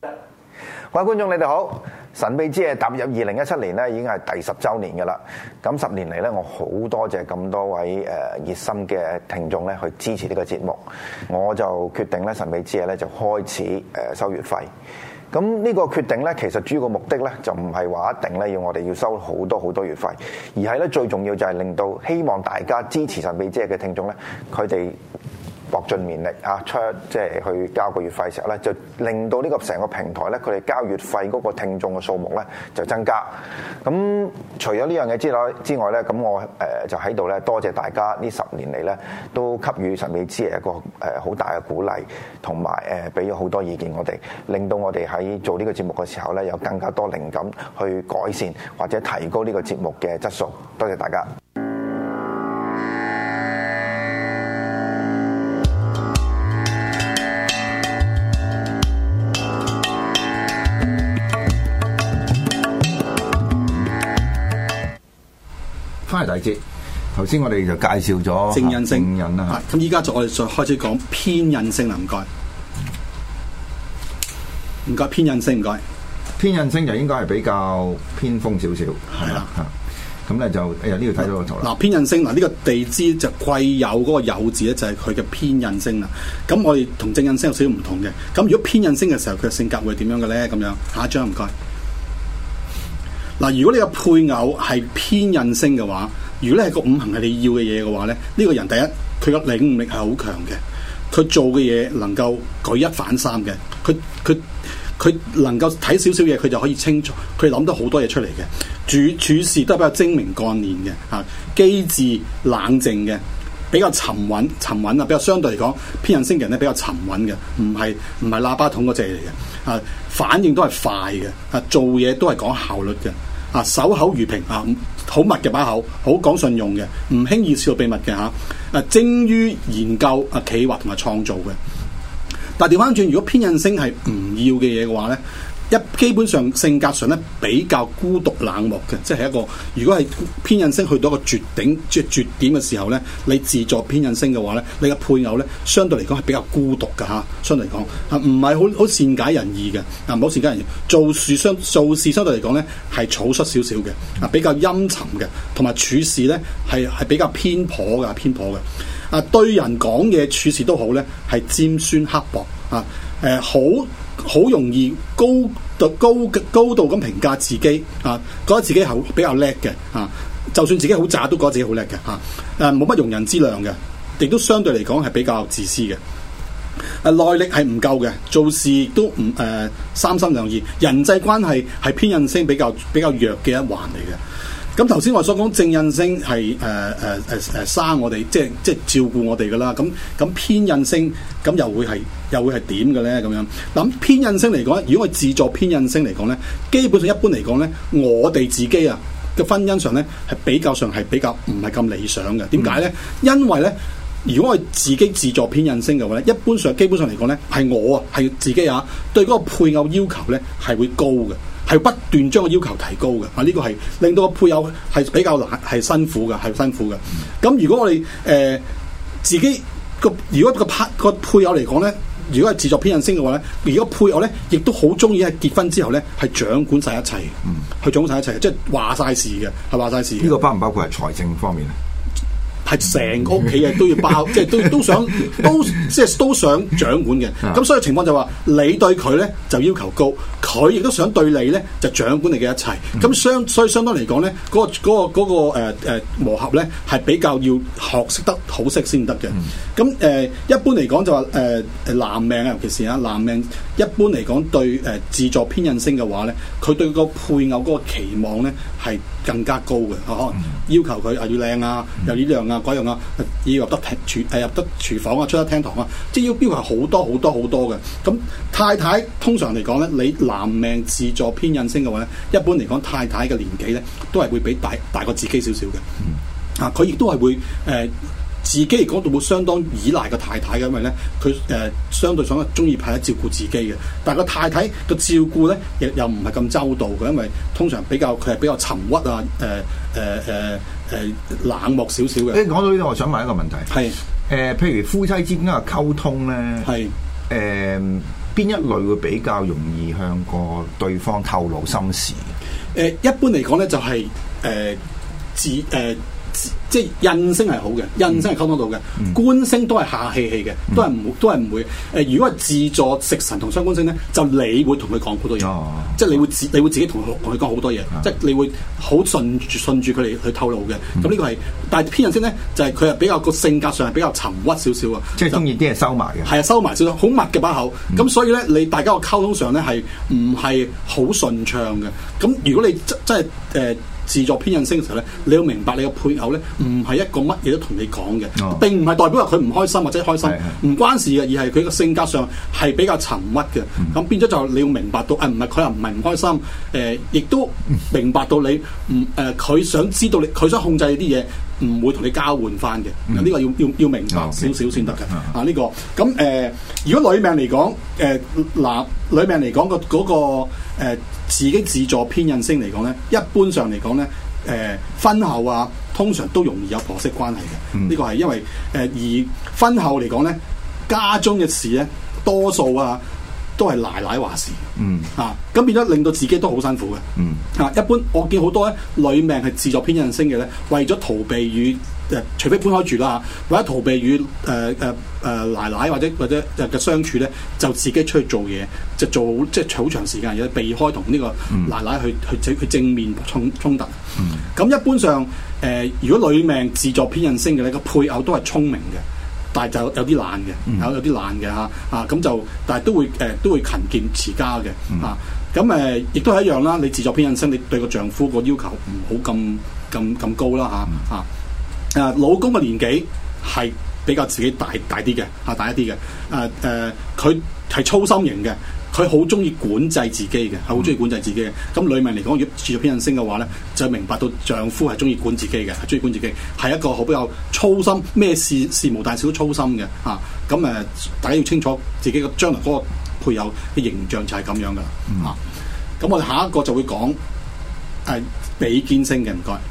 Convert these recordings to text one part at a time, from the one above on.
各位觀眾，你哋好！神秘之夜踏入2017年咧，已經係第10週年嘅啦。咁10年嚟咧，我好多謝咁多位熱心嘅聽眾咧去支持呢個節目，我就決定咧神秘之夜咧就開始收月費。咁呢個決定咧，其實主要個目的咧就唔係話一定咧要我哋要收好多月費，而係咧最重要就係令到希望大家支持神秘之夜嘅聽眾咧，佢哋搏盡綿力即係去交個月費嘅時候咧，就令到呢個成個平台咧，佢哋交月費嗰個聽眾嘅數目咧就增加。咁除咗呢樣嘢之外咧，咁我就喺度咧多謝大家呢10年嚟咧都給予神秘之夜一個好大嘅鼓勵，同埋俾咗好多意見我哋，令到我哋喺做呢個節目嘅時候咧有更加多靈感去改善或者提高呢個節目嘅質素。多謝大家。翻嚟第二節，頭先我哋就介紹咗正印星啦。 咁依家我哋再開始講偏印星啦，唔該，偏印星，唔該。 偏印星就應該係比較偏鋒少少， 係啦。 咁咧就呢度睇到個圖啦。 嗱，偏印星呢個地支就癸酉嗰個酉字咧，就係佢嘅偏印星啦。咁我哋同正印星有少少唔同嘅。咁如果偏印星嘅時候，佢嘅性格會點樣嘅咧？咁樣下一張唔該。嗱，如果你個配偶係偏印星嘅話，如果你係個五行係你要嘅嘢嘅話咧，呢個人第一佢個領悟力係好強嘅，佢做嘅嘢能夠舉一反三嘅，佢能夠睇少少嘢，佢就可以清楚，佢諗到好多嘢出嚟嘅，處事都係比較精明幹練嘅，嚇，機智冷靜嘅，比較沉穩啊，比較相對嚟講，偏印星嘅人咧比較沉穩嘅，唔係喇叭筒嗰隻嚟嘅，啊，反應都係快嘅，啊，做嘢都係講效率嘅。啊，守口如瓶啊，好密嘅把口，好講信用嘅，唔輕易泄露秘密嘅嚇。啊，精於研究啊，企劃同埋創造嘅。但係調翻轉，如果偏印星係唔要嘅嘢嘅話咧，基本上性格上咧比較孤獨冷漠嘅，即係一個如果係偏印星去到一個絕頂即係絕點嘅時候咧，你自作偏印星嘅話咧，你嘅配偶咧相對嚟講係比較孤獨嘅嚇，相對嚟講啊唔係好善解人意嘅，啊唔好善解人意，做事相對嚟講咧係草率少少嘅，啊比較陰沉嘅，同埋處事咧係比較偏頗嘅，啊對人講嘢處事都好咧係尖酸刻薄啊好容易高度咁評價自己啊，覺得自己比較叻嘅啊，就算自己好渣都覺得自己好叻嘅嚇，冇乜容人之量嘅，亦都相對嚟講係比較自私嘅，耐力係唔夠嘅，做事都唔三心兩意，人際關係係偏印星比較弱嘅一環嚟嘅。咁頭先我所講正印星係生我哋，即係照顧我哋噶啦。咁偏印星咁又會係點嘅咧？咁樣嗱，偏印星嚟講，如果我自作偏印星嚟講咧，基本上一般嚟講咧，我哋自己啊嘅婚姻上咧係比較唔係咁理想嘅。點解咧？因為咧，如果我自己自作偏印星嘅話咧，基本上嚟講咧，係我啊係自己啊對嗰個配偶要求咧係會高嘅。係不斷將個要求提高嘅，啊呢個係令到個配偶係比較難，係辛苦嘅。咁如果我哋自己如果個配偶嚟講咧，如果係自作偏印星嘅話咧，如果配偶咧亦都好中意喺結婚之後咧係掌管晒一切，去掌管晒一切，即係話晒事嘅，係話晒事。 呢個包唔包括係財政方面啊？ 係成個屋企嘅都要包，即係都想掌管嘅。咁所以情況就話，你對佢咧就要求高，佢亦都想對你咧就掌管你嘅一切。咁所以相當嚟講咧，嗰個磨合咧係比較要學識得好識先得嘅。咁一般嚟講就話男命啊，尤其是啊男命，一般嚟講對自作偏印星嘅話咧，佢對個配偶嗰個期望咧係更加高嘅。可能要求佢要靚啊，又呢樣啊。嗰樣啊，要入得廚房啊，出得廳堂啊，即係要標係好多嘅。咁太太通常嚟講咧，你男命自作偏印星嘅話咧，一般嚟講太太嘅年紀咧都係會比大過自己少少嘅。啊，佢亦都係會自己嚟講都會相當依賴個太太嘅，因為咧佢相對上中意太太照顧自己嘅，但係個太太嘅照顧咧又唔係咁周到嘅，因為通常佢係比較沉鬱啊，冷漠少少嘅。 講到呢度，我想問一個問題，係譬如夫妻之間嘅溝通咧，係邊一類會比較容易向個對方透露心事？ 一般嚟講咧就係即係印星係好嘅，印星係溝通到嘅，官星都係下氣氣嘅，都係唔會。如果係自助食神同傷官星咧，就你會同佢講好多嘢，即係你會自己同佢講好多嘢，即係你會好順住佢哋去透露嘅。咁呢個係，但係偏印星咧就係佢係比較個性格上係比較沉鬱少少啊， 即係中意啲嘢收埋嘅。係啊， 收埋少少，好密嘅把口。咁所以咧，你大家個溝通上咧係唔係好順暢嘅？咁如果你真係自助偏印星嘅時候咧，你要明白你嘅配偶咧唔係一個乜嘢都同你講嘅，並唔係代表話佢唔開心或者開心，唔關事嘅，而係佢個性格上係比較沉鬱嘅。咁變咗就你要明白到，唔係佢又唔係唔開心，亦都明白到你佢想知道佢想控制你啲嘢，唔會同你交換翻嘅。呢個要明白少少先得嘅。呢個咁如果女命嚟講，女命嚟講嗰個自己自助偏印星嚟講咧，一般上嚟講咧，婚後啊，通常都容易有婆媳關係嘅。呢個係因為而婚後嚟講咧，家中嘅事咧，多數啊都係奶奶話事。咁變咗令到自己都好辛苦嘅。一般我見好多咧女命係自助偏印星嘅咧，為咗逃避與除非搬開住啦，或者逃避與奶奶或者嘅相處咧，就自己出去做嘢，就做即係好長時間嘢，避開同呢個奶奶去正面衝突。咁一般上如果女命自助偏印星嘅咧，個配偶都係聰明嘅，但係就有啲懶嘅，有啲懶嘅咁就但係都會勤儉持家嘅咁亦都係一樣啦。你自助偏印星，你對個丈夫個要求唔好咁高啦老公嘅年紀係比較自己大啲嘅大一啲嘅佢係粗心型嘅，佢好中意管制自己嘅，係好中意管制自己嘅。咁女命嚟講，如果自助偏印星嘅話咧，就明白到丈夫係中意管自己嘅，係中意管自己，係一個好比較粗心，咩事無大小都粗心嘅咁大家要清楚自己嘅將來嗰個配偶嘅形象就係咁樣噶啦咁我哋下一個就會講比肩星嘅，唔該。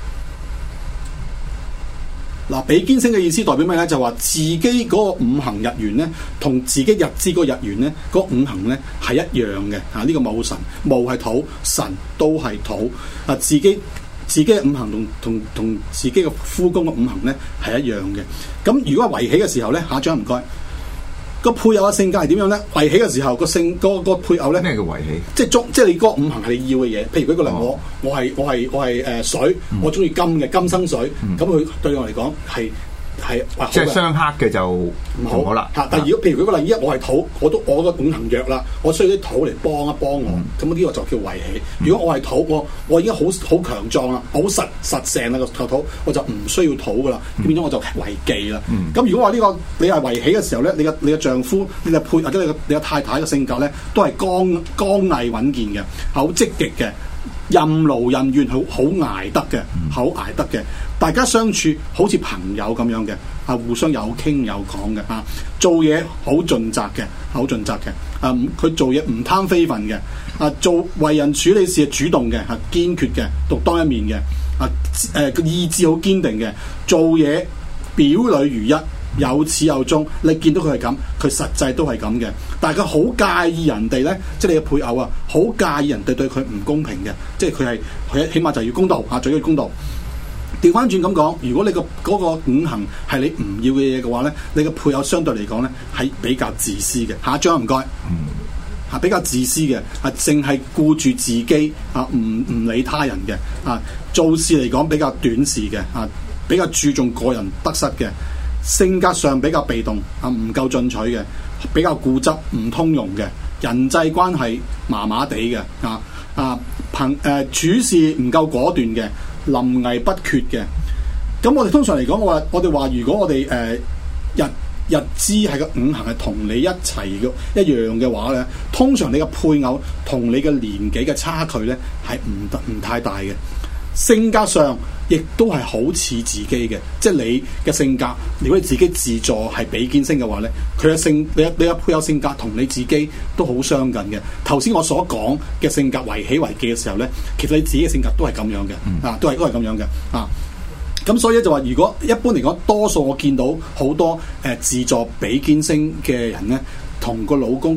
比肩星嘅意思代表咩咧？就話自己嗰個五行日元咧，同自己日支嗰個日元咧，嗰五行咧係一樣嘅。呢個戊辰，戊係土，辰都係土。自己嘅五行同自己嘅夫宮嘅五行咧係一樣嘅。咁如果係圍起嘅時候咧，下一張唔該。個配偶嘅性格係點樣咧？圍起嘅時候個配偶咧， 咩叫圍起？ 即係你嗰個五行係你要嘅嘢。譬如舉個例，我係水，我中意金嘅金生水，咁佢對我嚟講係即係相克嘅就唔好啦。 但係如果譬如舉個例，我係土，我個五行弱啦，我需要啲土嚟幫一幫我，咁呢個就叫圍起。如果我係土，我已經好強壯啦，好實淨啦個土，我就唔需要土噶啦，變咗我就為忌啦。咁如果話呢個你係圍起嘅時候咧，你嘅丈夫、你嘅配或者你嘅太太嘅性格咧，都係剛毅穩健嘅，好積極嘅。任勞任怨，好捱得嘅，好捱得嘅。大家相處好似朋友咁樣嘅，互相有傾有講嘅，做嘢好盡責嘅，好盡責嘅。佢做嘢唔貪非分嘅，做為人處理事係主動嘅，堅決嘅，獨當一面嘅。個意志好堅定嘅，做嘢表裏如一。有始有終，你見到佢係咁，佢實際都係咁嘅。但係佢好介意人哋咧，即係你嘅配偶好介意人哋對佢唔公平嘅，即係佢起碼就要公道最緊要公道。調翻轉咁講，如果你嗰個五行係你唔要嘅嘢嘅話咧，你嘅配偶相對嚟講咧係比較自私嘅。下一張唔該，比較自私嘅，淨係顧住自己唔理他人嘅，做事嚟講比較短視嘅，比較注重個人得失嘅。性格上比較被動唔夠進取嘅，比較固執唔通融嘅，人際關係麻麻地嘅，處事唔夠果斷嘅，臨危不決嘅。咁我哋通常嚟講，我哋話如果我哋日支係個五行係同你一齊嘅一樣嘅話咧，通常你嘅配偶同你嘅年紀嘅差距咧係唔太大嘅。性格上亦都係好似自己嘅，即係你嘅性格，如果你自己自助係比肩星嘅話咧，佢嘅你嘅配偶性格同你自己都好相近嘅。頭先我所講嘅性格為起為忌嘅時候咧，其實你自己嘅性格都係咁樣嘅，都係咁樣嘅。咁所以咧就話，如果一般嚟講，多數我見到好多自助比肩星嘅人咧，同個老公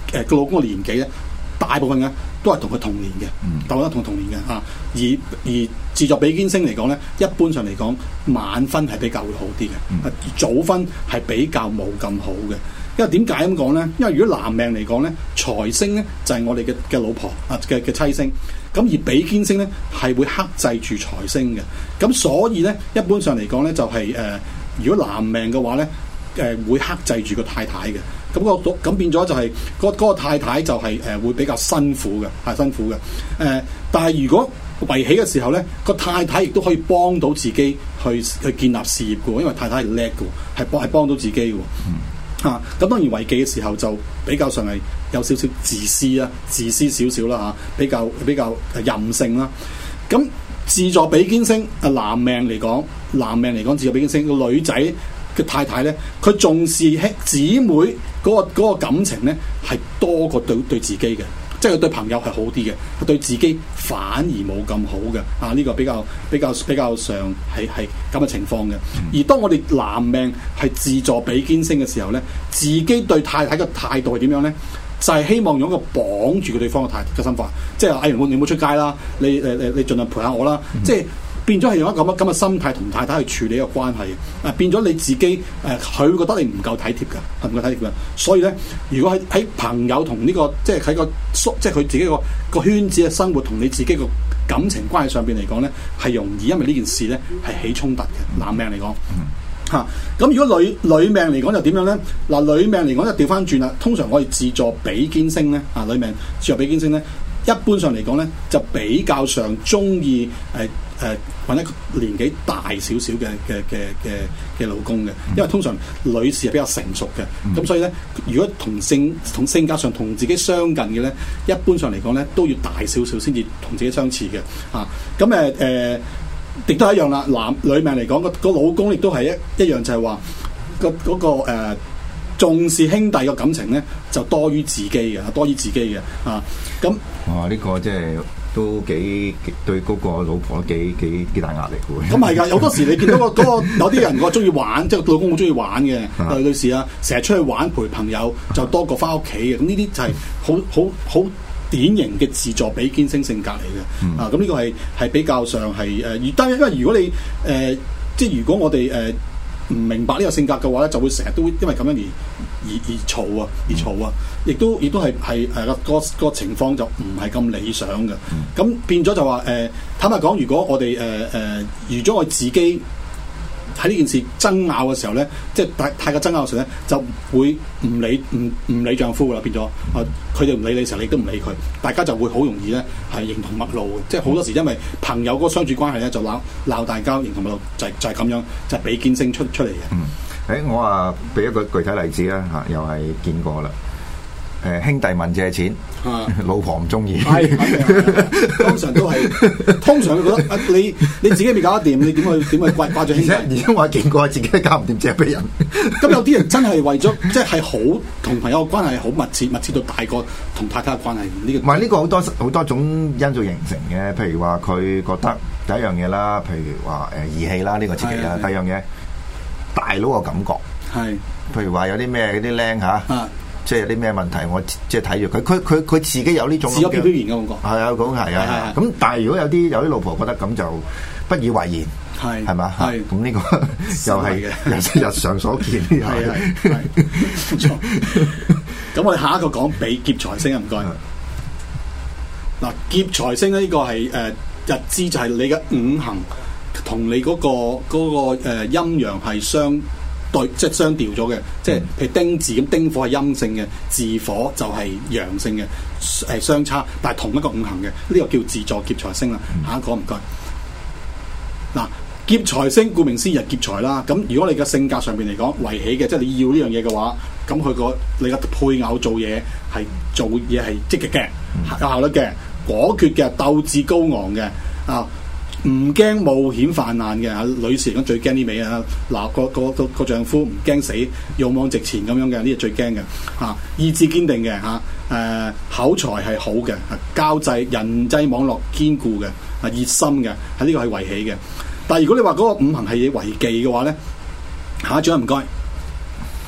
個老公嘅年紀咧，大部分嘅都係同佢同年嘅，大部分同年嘅嚇。而自作比肩星嚟講咧，一般上嚟講晚婚係比較會好啲嘅，早婚係比較冇咁好嘅。因為點解咁講咧？因為如果男命嚟講咧，財星咧就係我哋嘅老婆啊嘅妻星，咁而比肩星咧係會克制住財星嘅。咁所以咧，一般上嚟講咧就係如果男命嘅話咧，會克制住個太太嘅。咁變咗就係嗰個太太就係會比較辛苦嘅，係辛苦嘅。但係如果圍起嘅時候咧，個太太亦都可以幫到自己去建立事業嘅，因為太太係叻嘅，係幫到自己嘅。咁當然圍忌嘅時候就比較上係有少少自私啦，自私少少啦比較任性啦。咁自助比肩星男命嚟講自助比肩星個女仔嘅太太咧，佢重視姊妹嗰個感情咧係多過對自己嘅，即係佢對朋友係好啲嘅，佢對自己反而冇咁好嘅。呢個比較上係咁嘅情況嘅。而當我哋男命係自助比肩星嘅時候咧，自己對太太嘅態度係點樣咧？就係希望用一個綁住佢對方嘅心法，即係你唔好出街啦，你盡量陪下我啦，即係。變咗係用一個咁嘅心態同太太去處理一個關係，變咗你自己佢會覺得你唔夠體貼㗎，唔夠體貼㗎。所以咧，如果喺朋友同呢個即係喺個即係佢自己個圈子嘅生活同你自己個感情關係上邊嚟講咧，係容易因為呢件事咧係起衝突嘅。男命嚟講咁如果女命嚟講就點樣咧？嗱，女命嚟講就調翻轉啦。通常我哋自助比肩星咧，女命自助比肩星咧，一般上嚟講咧就比較上中意揾一個年紀大少少嘅老公嘅，因為通常女士係比較成熟嘅，咁所以咧，如果同性格上同自己相近嘅咧，一般上嚟講咧都要大少少先至同自己相似嘅。咁亦都係一樣啦。女命嚟講個老公亦都係一樣，就係話嗰個重視兄弟嘅感情咧，就多於自己嘅，咁哇！呢個即係都幾對嗰個老婆幾大壓力嘅喎。 咁係㗎，有好多時你見到嗰個有啲人個中意玩，即係老公好中意玩嘅女士啊，成日出去玩陪朋友就多過翻屋企嘅。咁呢啲就係好典型嘅自助比肩星性格嚟嘅。咁呢個係比較上係因為如果你即係如果我哋唔明白呢個性格嘅話咧，就會成日都會因為咁樣而嘈啊，亦都係個情況就唔係咁理想嘅。咁變咗就話坦白講，如果我哋預咗我自己喺呢件事爭拗嘅時候咧，即係太過爭拗嘅時候咧，就會唔理丈夫噶啦，變咗佢哋唔理你嘅時候，你都唔理佢，大家就會好容易咧係形同陌路嘅。即係好多時因為朋友嗰個相處關係咧，就鬧大交，形同陌路，就係咁樣，就係比肩星出嚟嘅。 我話俾一個具體例子啦嚇，又係見過啦。兄弟問借錢，老婆唔中意， 通常都係，通常佢覺得你自己未搞得掂，你點去掛住兄弟？ 而且我見過自己都搞唔掂，借俾人。 咁有啲人真係為咗，即係好同朋友嘅關係好密切到大過同太太嘅關係。呢個唔係呢個好多種因素形成嘅，譬如話佢覺得第一樣嘢啦，譬如話義氣啦，呢個刺激啦。第二樣嘢大佬嘅感覺係，譬如話有啲咩嗰啲僆嚇。即係有啲咩問題，我即係睇住佢自己有呢種自我表現嘅感覺。係啊，講係啊。咁但係如果有啲老婆覺得咁就不以為然，係嘛？係咁呢個又係日常所見。係冇錯。咁我哋下一個講比劫財星啊，唔該。嗱，劫財星咧，呢個係日支就係你嘅五行同你嗰個陰陽係相對，即係相調咗嘅，即係譬如丁字咁，丁火係陰性嘅，巳火就係陽性嘅，相差，但係同一個五行嘅，呢個叫自助劫財星啦。下一個唔該。嗱，劫財星顧名思義係劫財啦。咁如果你嘅性格上邊嚟講圍起嘅，即係你要呢樣嘢嘅話，咁你嘅配偶做嘢係積極嘅，有效率嘅，果決嘅，鬥志高昂嘅啊。唔驚冒險犯難嘅，女士嚟講最驚呢味啊！嗱，個丈夫唔驚死，勇往直前咁樣嘅，呢個最驚嘅嚇。意志堅定嘅嚇，口才係好嘅，交際人際網絡堅固嘅，熱心嘅，喺呢個係圍起嘅。但係如果你話嗰個五行係違忌嘅話咧，下一張唔該。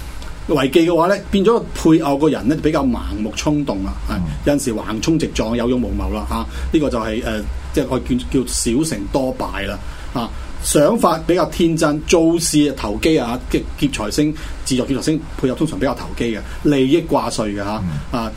違忌嘅話咧，變咗配偶個人咧比較盲目衝動啦，有陣時橫衝直撞，有勇無謀啦嚇。呢個就係即係我叫小成多敗啦嚇。想法比較天真，做事投機啊！劫財星、自助劫財星配合通常比較投機嘅，利益掛帥嘅嚇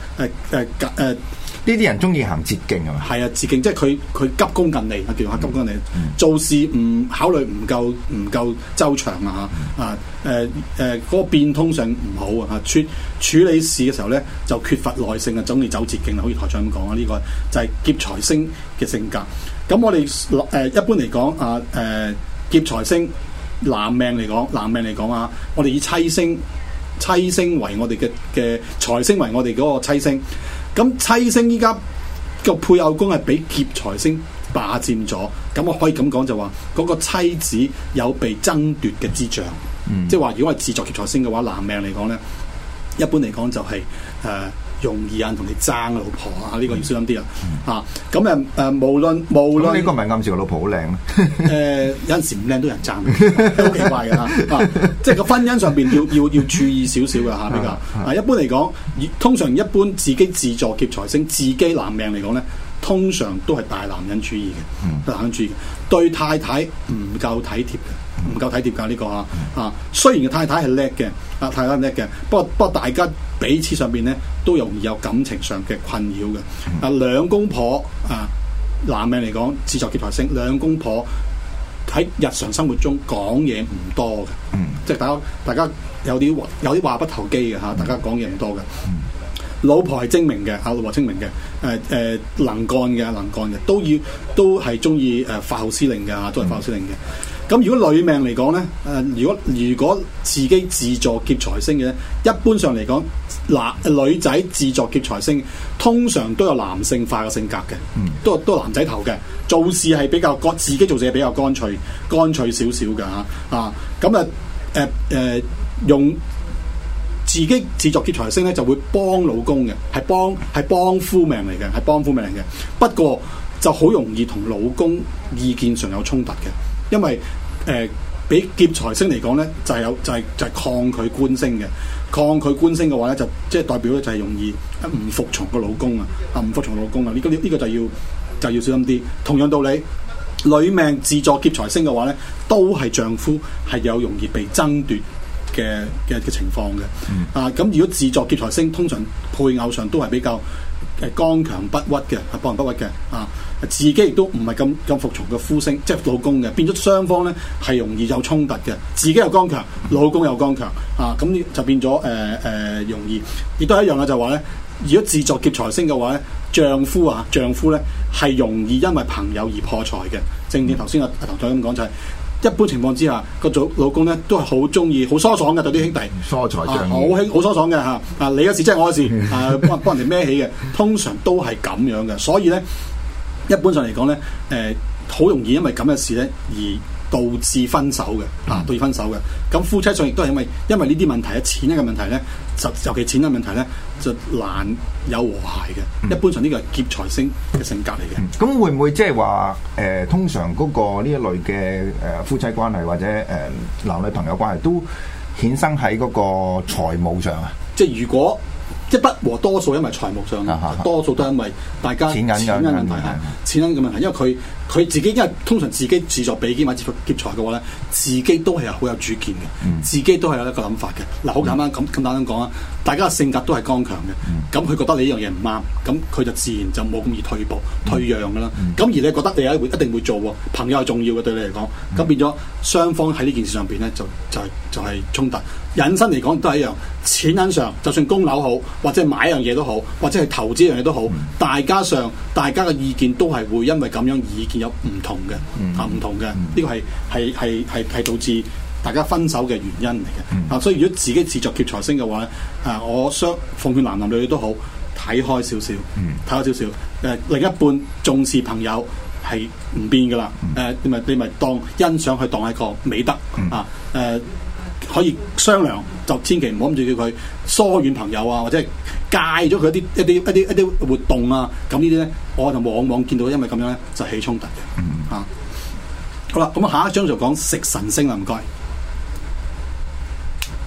呢啲人中意行捷徑係嘛？ 係啊，捷徑即係佢急功近利，叫做急功近利，做事唔考慮唔夠周詳啊嗰個變通性唔好啊處理事嘅時候咧就缺乏耐性啊，總係走捷徑啦，好似台長咁講啊，呢個就係劫財星嘅性格。咁我哋一般嚟講劫財星男命嚟講啊，我哋以妻星為我哋嘅財星為我哋嗰個妻星。咁妻星依家個配偶宮係俾劫財星霸佔咗，咁我可以咁講就話嗰個妻子有被爭奪嘅跡象，即係話如果係自助劫財星嘅話，男命嚟講咧，一般嚟講就係容易有人同你爭老婆啊！呢個要小心啲啦嚇。咁無論呢個咪暗示個老婆好靚咧？ 有陣時唔靚都有人爭，好奇怪嘅嚇。即係個婚姻上邊要注意少少嘅嚇比較。一般嚟講，通常一般自己自助劫財星，自己男命嚟講咧，通常都係大男人主義嘅，大男人主義對太太唔夠體貼嘅，唔夠體貼㗎呢個啊。雖然個太太係叻嘅，太太係叻嘅，不過大家彼此上邊咧都容易有感情上嘅困擾嘅。兩公婆男命嚟講，自助劫財星，兩公婆喺日常生活中講嘢唔多嘅，即係大家有啲話不投機嘅嚇，大家講嘢唔多嘅。老婆係精明嘅，老婆精明嘅，能幹嘅，都係中意發號施令嘅，都係發號施令嘅。咁如果女命嚟講咧，如果自己自助劫財星嘅，一般上嚟講，女仔自助劫財星，通常都有男性化嘅性格嘅，都係男仔頭嘅，做事係比較自己做事係比較乾脆少少嘅咁用自己自助劫財星咧，就會幫老公嘅，係幫夫命嚟嘅，不過就好容易同老公意見上有衝突嘅。因為俾劫財星嚟講咧，就係抗拒官星嘅。抗拒官星嘅話咧，就即係代表咧就係容易唔服從個老公啊！唔服從老公啊！呢個就要小心啲。同樣道理，女命自助劫財星嘅話咧，都係丈夫係有容易被爭奪嘅情況嘅。咁如果自助劫財星，通常配偶上都係比較剛強不屈嘅，剛強不屈嘅自己亦都唔係咁服從嘅夫星，即係老公嘅，變咗雙方咧係容易有衝突嘅。自己又剛強，老公又剛強咁就變咗容易。亦都係一樣嘅，就話咧，如果自助劫財星嘅話咧，丈夫咧係容易因為朋友而破財嘅。正頭先阿唐總咁講就係、是，一般情況之下，個老公咧都係好中意、好疏爽嘅對啲兄弟， 疏財仗義，好疏爽嘅你嘅事即係我嘅事幫人哋孭起嘅，通常都係咁樣嘅。所以咧，一般上嚟講咧，好容易因為咁嘅事咧而導致分手嘅，導致分手嘅。咁夫妻上亦都係因為呢啲問題錢嘅問題咧，尤其錢嘅問題咧，就難有和諧嘅。一般上呢個係劫財星嘅性格嚟嘅。 咁會唔會即係話通常嗰個呢一類嘅夫妻關係或者男女朋友關係都衍生喺嗰個財務上啊？ 即係如果即係不和，多數因為財務上，多數都係因為大家錢銀問題嚇，錢銀嘅問題。因為佢自己因為通常自己自助比肩或者劫財嘅話咧，自己都係好有主見嘅，自己都係有一個諗法嘅。嗱，好簡單咁簡單講啊，大家嘅性格都係剛強嘅。咁佢覺得你呢樣嘢唔啱，咁佢就自然就冇咁易退讓㗎啦。咁而你覺得你一定會做喎，朋友係重要嘅對你嚟講，咁變咗雙方喺呢件事上邊咧就係衝突。引申嚟講都係一樣，錢銀上就算供樓好，或者買一樣嘢都好，或者係投資一樣嘢都好，大家嘅意見都係會因為咁樣意見有唔同嘅，唔同嘅，呢個係導致大家分手嘅原因嚟嘅。所以如果自己自作劫財星嘅話咧，我奉勸男女都好，睇開少少，另一半重視朋友係唔變噶啦，你咪當欣賞佢當係一個美德可以商量，就千祈唔好諗住叫佢疏遠朋友或者係戒咗佢一啲活動啊。咁呢啲咧，我就往往見到因為咁樣咧就起衝突嘅。好啦，咁下一章就講食神星啦，唔該。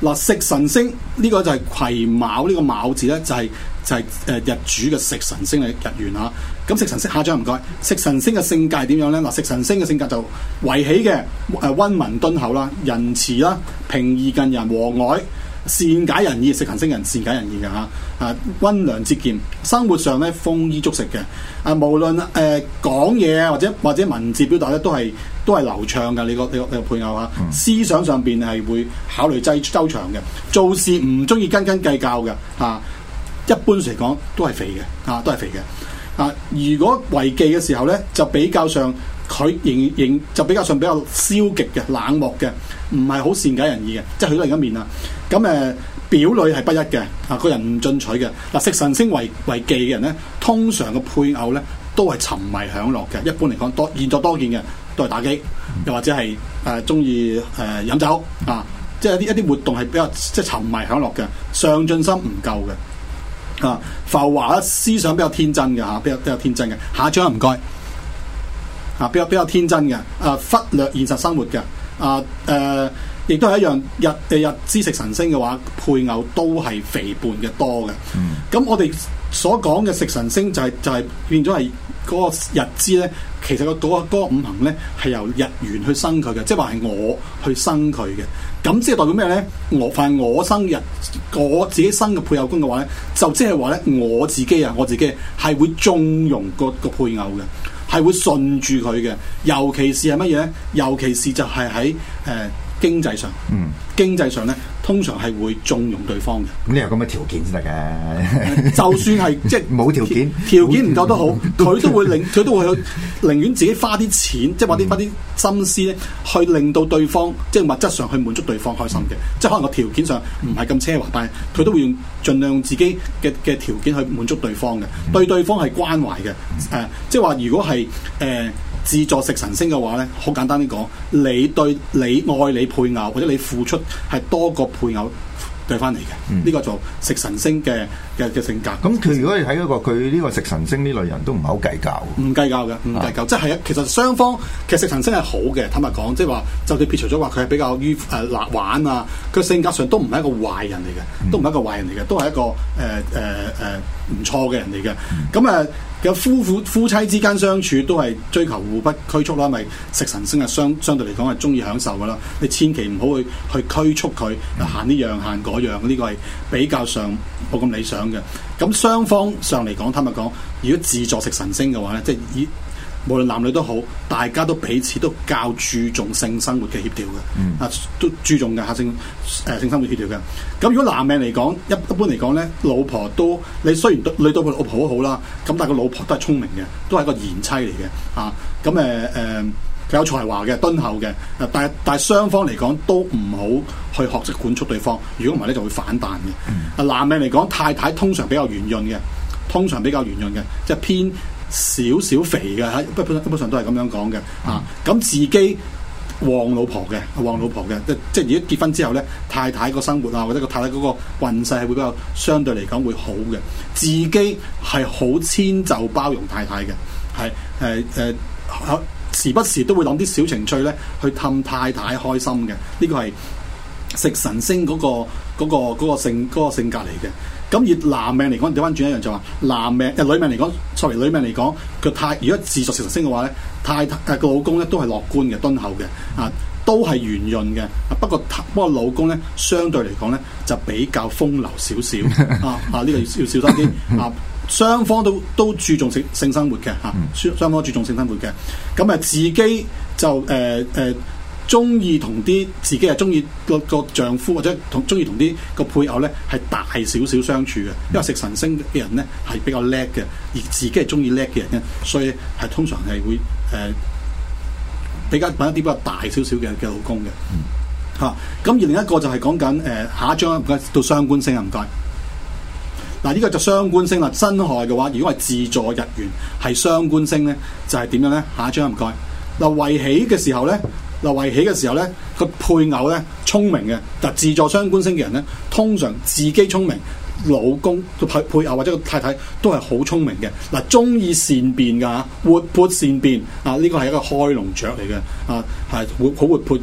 嗱，食神星呢個就係癸卯呢個卯字咧，就係日主嘅食神星嘅日元嚇。咁食神星下張唔該，食神星嘅性格係點樣咧？嗱，食神星嘅性格就為喜嘅溫文敦厚啦、仁慈啦、平易近人、和藹、善解人意。食神星人善解人意嘅嚇，溫良節儉，生活上咧豐衣足食嘅。無論講嘢或者文字表達咧都係流暢嘅。你個配偶嚇，思想上邊係會考慮周詳嘅，做事唔中意斤斤計較嘅嚇。一般嚟講都係肥嘅嚇，都係肥嘅。如果為忌嘅時候咧，就比較上佢就比較上比較消極嘅、冷漠嘅，唔係好善解人意嘅，即係佢都另一面啦。咁表裏係不一嘅，個人唔進取嘅。嗱，食神星為忌嘅人咧，通常嘅配偶咧都係沉迷享樂嘅。一般嚟講，現在多見嘅都係打機，又或者係中意飲酒啊，即係一啲活動係比較即係沉迷享樂嘅，上進心唔夠嘅。浮華思想比較天真嘅嚇，比較天真嘅。下一張唔該，比較天真嘅，忽略現實生活嘅，亦都係一樣日支食神星嘅話，配偶都係肥胖嘅多嘅。咁我哋所講嘅食神星就係變咗係嗰個日支咧，其實嗰個五行咧係由日元去生佢嘅，即係話係我去生佢嘅。咁即係代表咩咧？我生日，我自己生嘅配偶宮嘅話咧，就即係話咧，我自己係會縱容個配偶嘅，係會順住佢嘅。尤其是係乜嘢咧？尤其是就係喺經濟上，經濟上咧，通常係會縱容對方嘅。 咁你有咁嘅條件先得嘅。 就算係即係冇條件唔夠都好，佢都會寧願自己花啲錢，即係花啲心思咧，去令到對方即係物質上去滿足對方開心嘅。即係可能個條件上唔係咁奢華，但係佢都會用盡量用自己嘅條件去滿足對方嘅，對對方係關懷嘅。即係話如果係自助食神星嘅話咧，好簡單啲講，你愛你配偶或者你付出係多過配偶對翻嚟嘅，呢個就食神星嘅性格。 咁佢如果你睇嗰個佢呢個食神星呢類人都唔係好計較， 唔計較嘅，唔計較，即係其實雙方其實食神星係好嘅，坦白講，即係話就算撇除咗話佢係比較於玩啊，佢性格上都唔係一個壞人嚟嘅，都唔係一個壞人嚟嘅，都係一個唔錯嘅人嚟嘅。咁有夫妻之間相處都係追求互不拘束啦，咪食神星係相對嚟講係中意享受噶啦。你千祈唔好去拘束佢，行呢樣行嗰樣，呢個係比較上冇咁理想嘅。咁雙方上嚟講，坦白講，如果自助食神星嘅話咧，即係無論男女都好，大家都彼此都較注重性生活嘅協調嘅，都注重嘅性生活協調嘅。咁如果男命嚟講，一般嚟講咧，老婆都你雖然對老婆好好啦，咁但係個老婆都係聰明嘅，都係一個賢妻嚟嘅，咁佢有才華嘅，敦厚嘅，但係雙方嚟講都唔好去學識管束對方，如果唔係咧就會反彈嘅。男命嚟講，太太通常比較圓潤嘅，即係偏少少肥嘅，一般上都係咁樣講嘅。咁自己旺老婆嘅，即係如果結婚之後咧，太太個生活啊，或者個太太嗰個運勢係會比較相對嚟講會好嘅。自己係好遷就包容太太嘅，係時不時都會諗啲小情趣咧，去氹太太開心嘅。呢個係食神星嗰個性格嚟嘅。咁而男命嚟講，調翻轉一樣就話女命嚟講，女命嚟講，如果自助食神星嘅話咧，個老公咧都係樂觀嘅、敦厚嘅，都係圓潤嘅。不過老公咧相對嚟講咧就比較風流少少呢個要小心啲雙方都注重性生活嘅，雙方注重性生活嘅。咁自己就中意同啲自己係中意個丈夫或者中意同啲個配偶咧係大少少相處嘅，因為食神星嘅人咧係比較叻嘅，而自己係中意叻嘅人咧，所以係通常係會比較揾一啲比較大少少嘅老公嘅。咁而另一個就係講緊下一張唔該到雙官星啊，唔該。嗱，呢個就雙官星啦。辛亥嘅話，如果係自助日元係雙官星咧，就係點樣咧？下一張唔該。嗱，為喜嘅時候咧，個配偶咧聰明嘅。嗱，自助雙官星嘅人咧，通常自己聰明，老公配偶或者個太太都係好聰明嘅。嗱，中意善變㗎，活潑善變呢個係一個開籠雀嚟嘅，係好活潑嘅，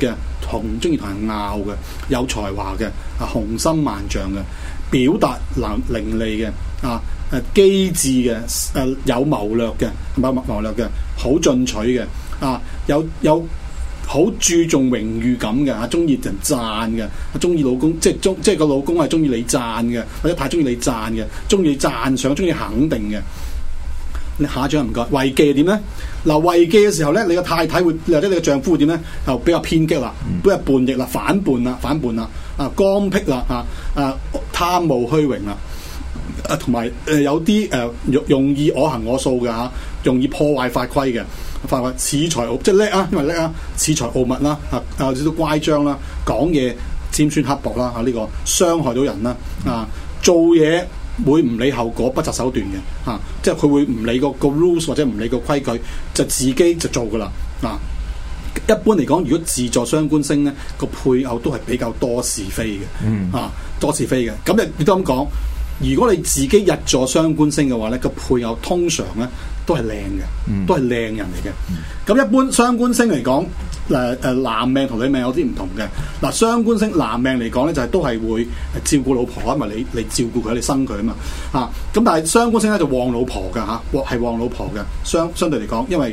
中意同人拗嘅，有才華嘅，雄心萬丈嘅，表達伶俐嘅，機智嘅，有謀略嘅，謀略嘅，好進取嘅，有好注重榮譽感嘅，中意人讚嘅，中意老公，即係個老公係中意你讚嘅，或者太中意你讚嘅，中意讚賞，中意肯定嘅。你下一張唔該，違忌係點咧？嗱，違忌嘅時候咧，你個太太會或者你個丈夫會點咧？就比較偏激啦，比較叛逆啦，反叛啦，剛愎啦，貪慕虛榮啦。同埋有啲容易我行我素嘅嚇，容易破壞法規嘅，恃才傲即係叻啊，因為叻啊，恃才傲物啦，少少乖張啦，講嘢尖酸刻薄啦，呢個傷害到人啦，做嘢會唔理後果，不擇手段嘅，即係佢會唔理個 rules 或者唔理個規矩，就自己就做噶啦，一般嚟講，如果自助雙官星咧，個配偶都係比較多是非嘅，多是非嘅，咁亦都咁講。如果你自己日坐雙官星嘅話咧，個配偶通常咧都係靚嘅，都係靚人嚟嘅。咁一般雙官星嚟講，男命同女命有啲唔同嘅。嗱，雙官星男命嚟講咧，就係都係會照顧老婆，因為你照顧佢，你生佢啊嘛。咁但係雙官星咧就旺老婆㗎嚇，係旺老婆嘅。相對嚟講，因為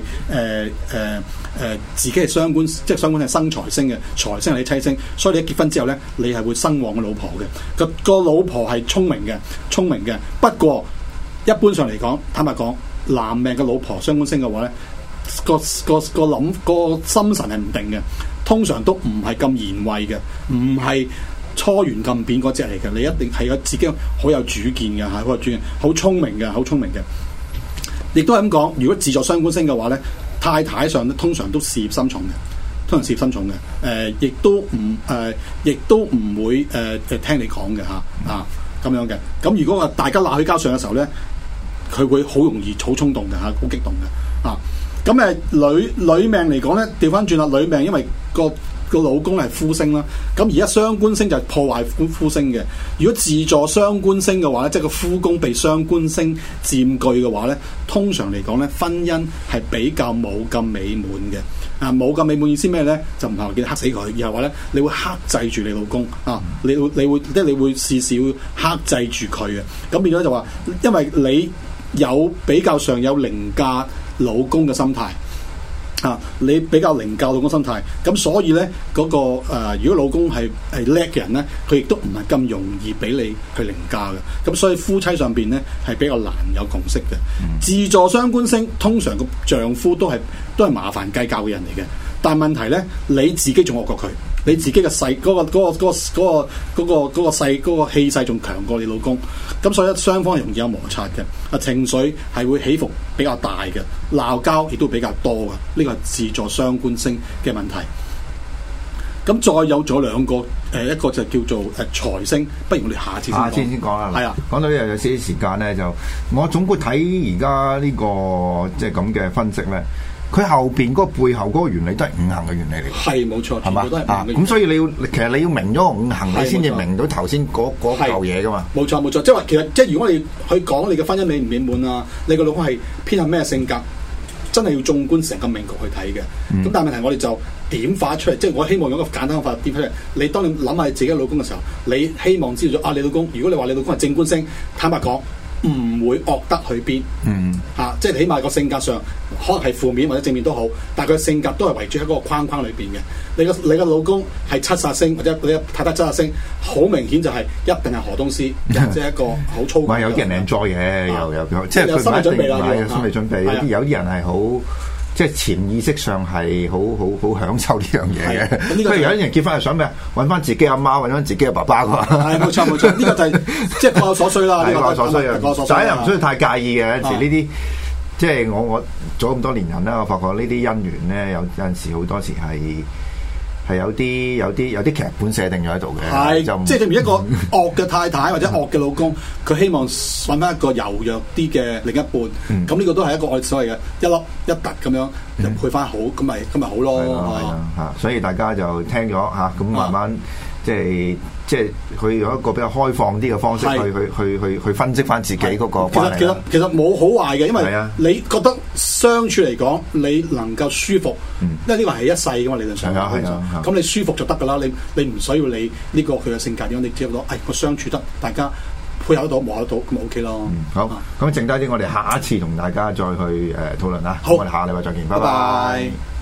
自己係雙官，即係雙官係生財星嘅，財星係你妻星，所以你一結婚之後咧，你係會生旺個老婆嘅。個老婆係聰明嘅。不過一般上嚟講，坦白講，男命嘅老婆雙官星嘅話咧，個心神係唔定嘅，通常都唔係咁賢慧嘅，唔係初圓咁扁嗰隻嚟嘅。你一定係有自己好有主見嘅嚇，好有主見，好聰明嘅。亦都係咁講，如果自助雙官星嘅話咧，太太上咧通常都事業心重嘅，亦都唔會聽你講嘅嚇咁樣嘅。咁如果話大家鬧起交上嘅時候咧，佢會好容易好衝動嘅嚇，好激動嘅。咁女命嚟講咧，調翻轉啦，女命因為個老公係夫星啦，咁而家雙官星就係破壞夫星嘅。如果自助雙官星嘅話咧，即係個夫宮被雙官星佔據嘅話咧，通常嚟講咧，婚姻係比較冇咁美滿嘅。冇咁美滿意思咩咧？就唔係話叫克死佢，而係話咧，你會克制住你老公你會事事會克制住佢嘅。咁變咗就話，因為你有比較上有凌駕老公嘅心態。你比較凌駕老公心態，咁所以咧如果老公係叻嘅人咧，佢亦都唔係咁容易俾你去凌駕嘅，咁所以夫妻上邊咧係比較難有共識嘅。自助雙官星通常個丈夫都係麻煩計較嘅人嚟嘅，但係問題咧，你自己仲惡過佢，你自己嘅勢嗰個氣勢仲強過你老公，咁所以雙方容易有摩擦嘅，情緒係會起伏比較大嘅，鬧交亦都比較多嘅，呢個係自助雙官星嘅問題。咁再有咗兩個，一個就叫做財星，不如我哋下次先講啦。係啊，講到呢度有少少時間咧，就我總括睇而家呢個即係咁嘅分析咧。佢後邊嗰個背後嗰個原理都係五行嘅原理嚟嘅，係冇錯，係嘛？咁所以其實你要明咗個五行，你先至明到頭先嗰嚿嘢噶嘛。冇錯， 即係話其實即係如果你去講你嘅婚姻美唔美滿啊，你個老公係偏向咩性格，真係要縱觀成個命局去睇嘅。咁但係問題我哋就點化出嚟，即係我希望用一個簡單嘅法點出嚟。你當你諗下自己嘅老公嘅時候，你希望知道咗你老公，如果你話你老公係正官星，坦白講。唔會惡得去邊，即係起碼個性格上可能係負面或者正面都好，但係佢性格都係圍住喺嗰個框框裏邊嘅。你個老公係七殺星或者你太太七殺星，好明顯就係一定係河東獅，即係一個好粗。唔係有啲人 enjoy 嘅，又即係佢心理準備啦，有心理準備。有啲人係好。即係潛意識上係好享受呢樣嘢嘅。咁有啲人結婚係想咩？揾翻自己阿媽，揾翻自己嘅爸爸㗎嘛。係冇錯，呢個就係即係各有所需啦。各有所需啊，仔又唔需要太介意嘅。有時呢啲即係我做咁多年人啦，我發覺呢啲姻緣咧有陣時好多時係有啲劇本寫定咗喺度嘅。係就即係正如一個惡嘅太太或者惡嘅老公，佢希望揾翻一個柔弱啲嘅另一半。咁呢個都係一個我哋所謂嘅一粒一突咁樣就配翻好，咁咪好咯。所以大家就聽咗嚇，咁慢慢即係即係佢用一個比較開放啲嘅方式去分析翻自己嗰個關係。 其實冇好壞嘅，因為你覺得相處嚟講，你能夠舒服，因為呢個係一世噶嘛，理論上。咁你舒服就得噶啦，你唔需要你呢個佢嘅性格點樣，你只要講，我相處得大家配合得到、磨得到，咁咪 OK 咯。 好，咁剩低啲我哋下一次同大家再去討論啦。 好， 我哋下個禮拜再見，拜拜。